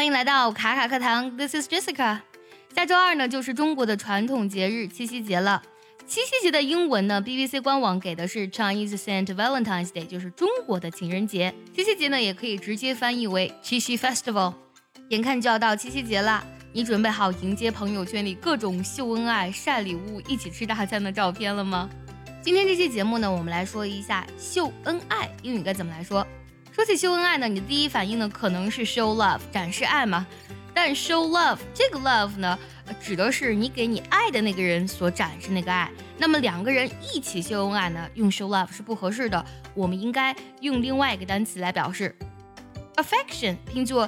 欢迎来到卡卡课堂 ，This is Jessica。下周二呢就是中国的传统节日七夕节了。七夕节的英文呢 ，BBC 官网给的是 Chinese Saint Valentine's Day， 就是中国的情人节。七夕节呢也可以直接翻译为七夕 Festival。眼看就要到七夕节了，你准备好迎接朋友圈里各种秀恩爱、晒礼物、一起吃大餐的照片了吗？今天这期节目呢，我们来说一下秀恩爱英语该怎么来说。说起秀恩爱呢，你的第一反应呢可能是 show love， 展示爱嘛。但 show love 这个 love 呢，指的是你给你爱的那个人所展示那个爱。那么两个人一起秀恩爱呢，用 show love 是不合适的，我们应该用另外一个单词来表示 affection， 拼作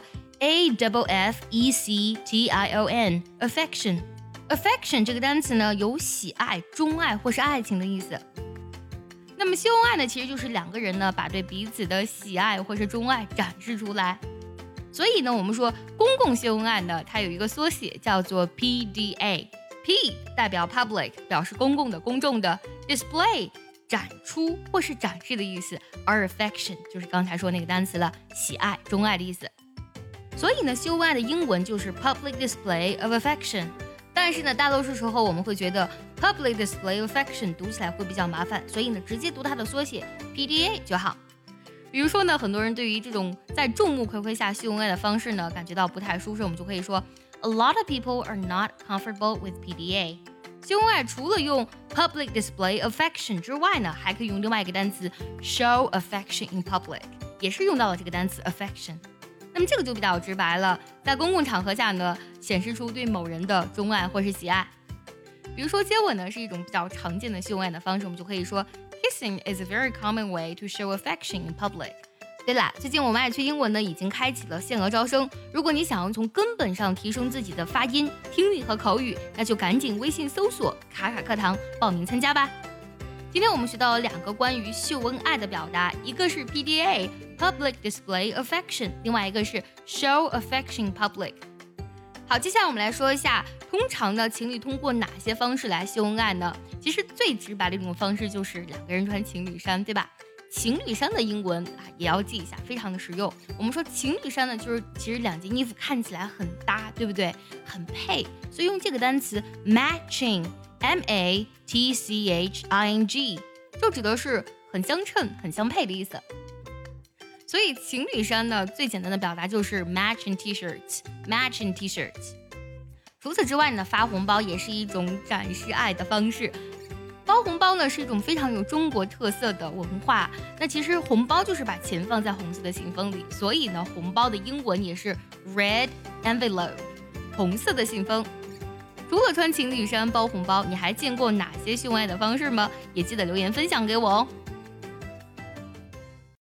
A-F-F-E-C-T-I-O-N affection。affection 这个单词呢，有喜爱、钟爱或是爱情的意思。那么秀恩爱呢，其实就是两个人呢把对彼此的喜爱或是钟爱展示出来。所以呢，我们说公共秀恩爱呢，它有一个缩写叫做 PDA。P 代表 public， 表示公共的、公众的 ；display 展出或是展示的意思，而 affection 就是刚才说那个单词了，喜爱、钟爱的意思。所以呢，秀恩爱的英文就是 public display of affection。但是呢，大多数时候我们会觉得 public display of affection 读起来会比较麻烦，所以呢，直接读它的缩写 PDA 就好。比如说呢，很多人对于这种在众目睽睽下秀恩爱的方式呢，感觉到不太舒适，我们就可以说 A lot of people are not comfortable with PDA。秀恩爱除了用 public display of affection 之外呢，还可以用另外一个单词 show affection in public， 也是用到了这个单词 affection。那么这个就比较直白了，在公共场合下呢，显示出对某人的钟爱或是喜爱。比如说接吻呢，是一种比较常见的秀恩爱的方式，我们就可以说 Kissing is a very common way to show affection in public。 对啦，最近我们爱趣英文呢已经开启了限额招生，如果你想要从根本上提升自己的发音、听力和口语，那就赶紧微信搜索卡卡课堂报名参加吧。今天我们学到了两个关于秀恩爱的表达，一个是 PDA Public Display Affection， 另外一个是 Show Affection Public。 好，接下来我们来说一下，通常呢情侣通过哪些方式来秀恩爱呢？其实最直白的一种方式就是两个人穿情侣衫，对吧？情侣衫的英文也要记一下，非常的实用。我们说情侣衫呢，就是其实两件衣服看起来很搭，对不对？很配，所以用这个单词 matching M-A-T-C-H-I-N-G 就指的是很相称、很相配的意思。所以情侣衫呢，最简单的表达就是 matching t-shirts。除此之外呢，发红包也是一种展示爱的方式。包红包呢是一种非常有中国特色的文化。那其实红包就是把钱放在红色的信封里，所以呢，红包的英文也是 red envelope， 红色的信封。除了穿情侣衫包红包，你还见过哪些秀恩爱的方式吗？也记得留言分享给我哦。